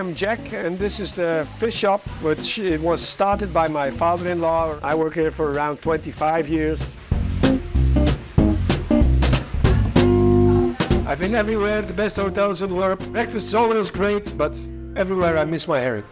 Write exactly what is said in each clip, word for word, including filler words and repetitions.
am Jack, and this is the fish shop, which it was started by my father-in-law. I work here for around twenty-five years. I've been everywhere, the best hotels in the world. Breakfast is always great, but everywhere I miss my herring.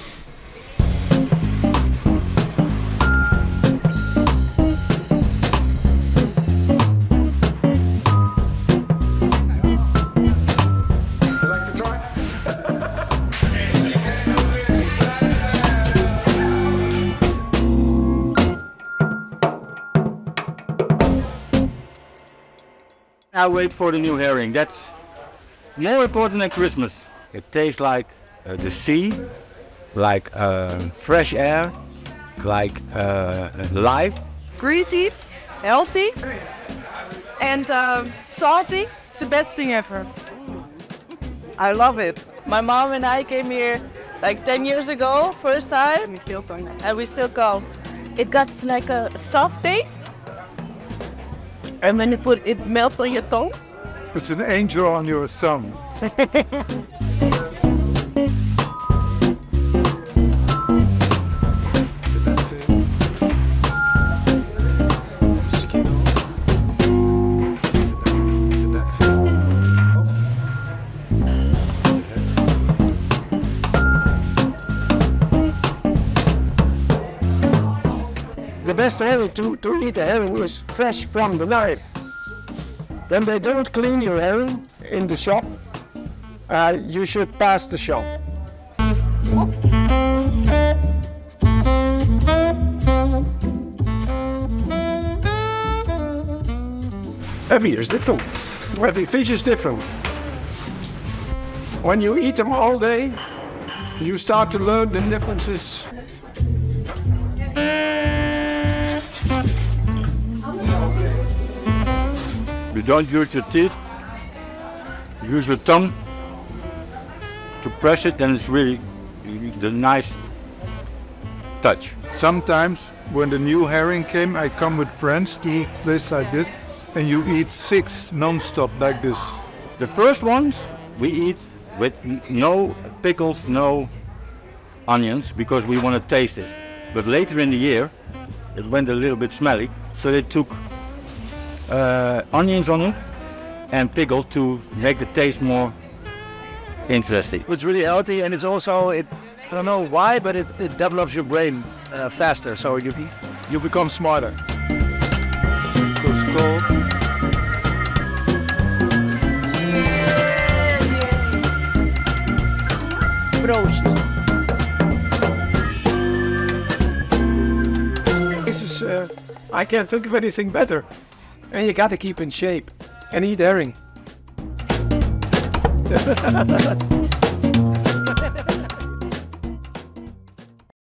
I wait for the new herring. That's more important than Christmas. It tastes like uh, the sea, like uh, fresh air, like uh, life. Greasy, healthy, and uh, salty. It's the best thing ever. I love it. My mom and I came here like ten years ago, first time, We still going. and we still come. It got like a soft taste, and when it put it melts on your tongue. It's an angel on your thumb. The best herring to, to eat a herring is fresh from the knife. Then they don't clean your herring in the shop. Uh, you should pass the shop. Every is different. Every fish is different. When you eat them all day, you start to learn the differences. You don't use your teeth, use your tongue to press it, then it's really the nice touch. Sometimes when the new herring came, I come with friends to this like this, and you eat six non-stop like this. The first ones we eat with no pickles, no onions, because we want to taste it. But later in the year, it went a little bit smelly, so they took uh, onions on it and pickle to make the taste more interesting. It's really healthy, and it's also, it, I don't know why, but it, it develops your brain uh, faster, so you, you become smarter. Goes cold. Proost. This is, uh, I can't think of anything better. And you gotta keep in shape and eat herring.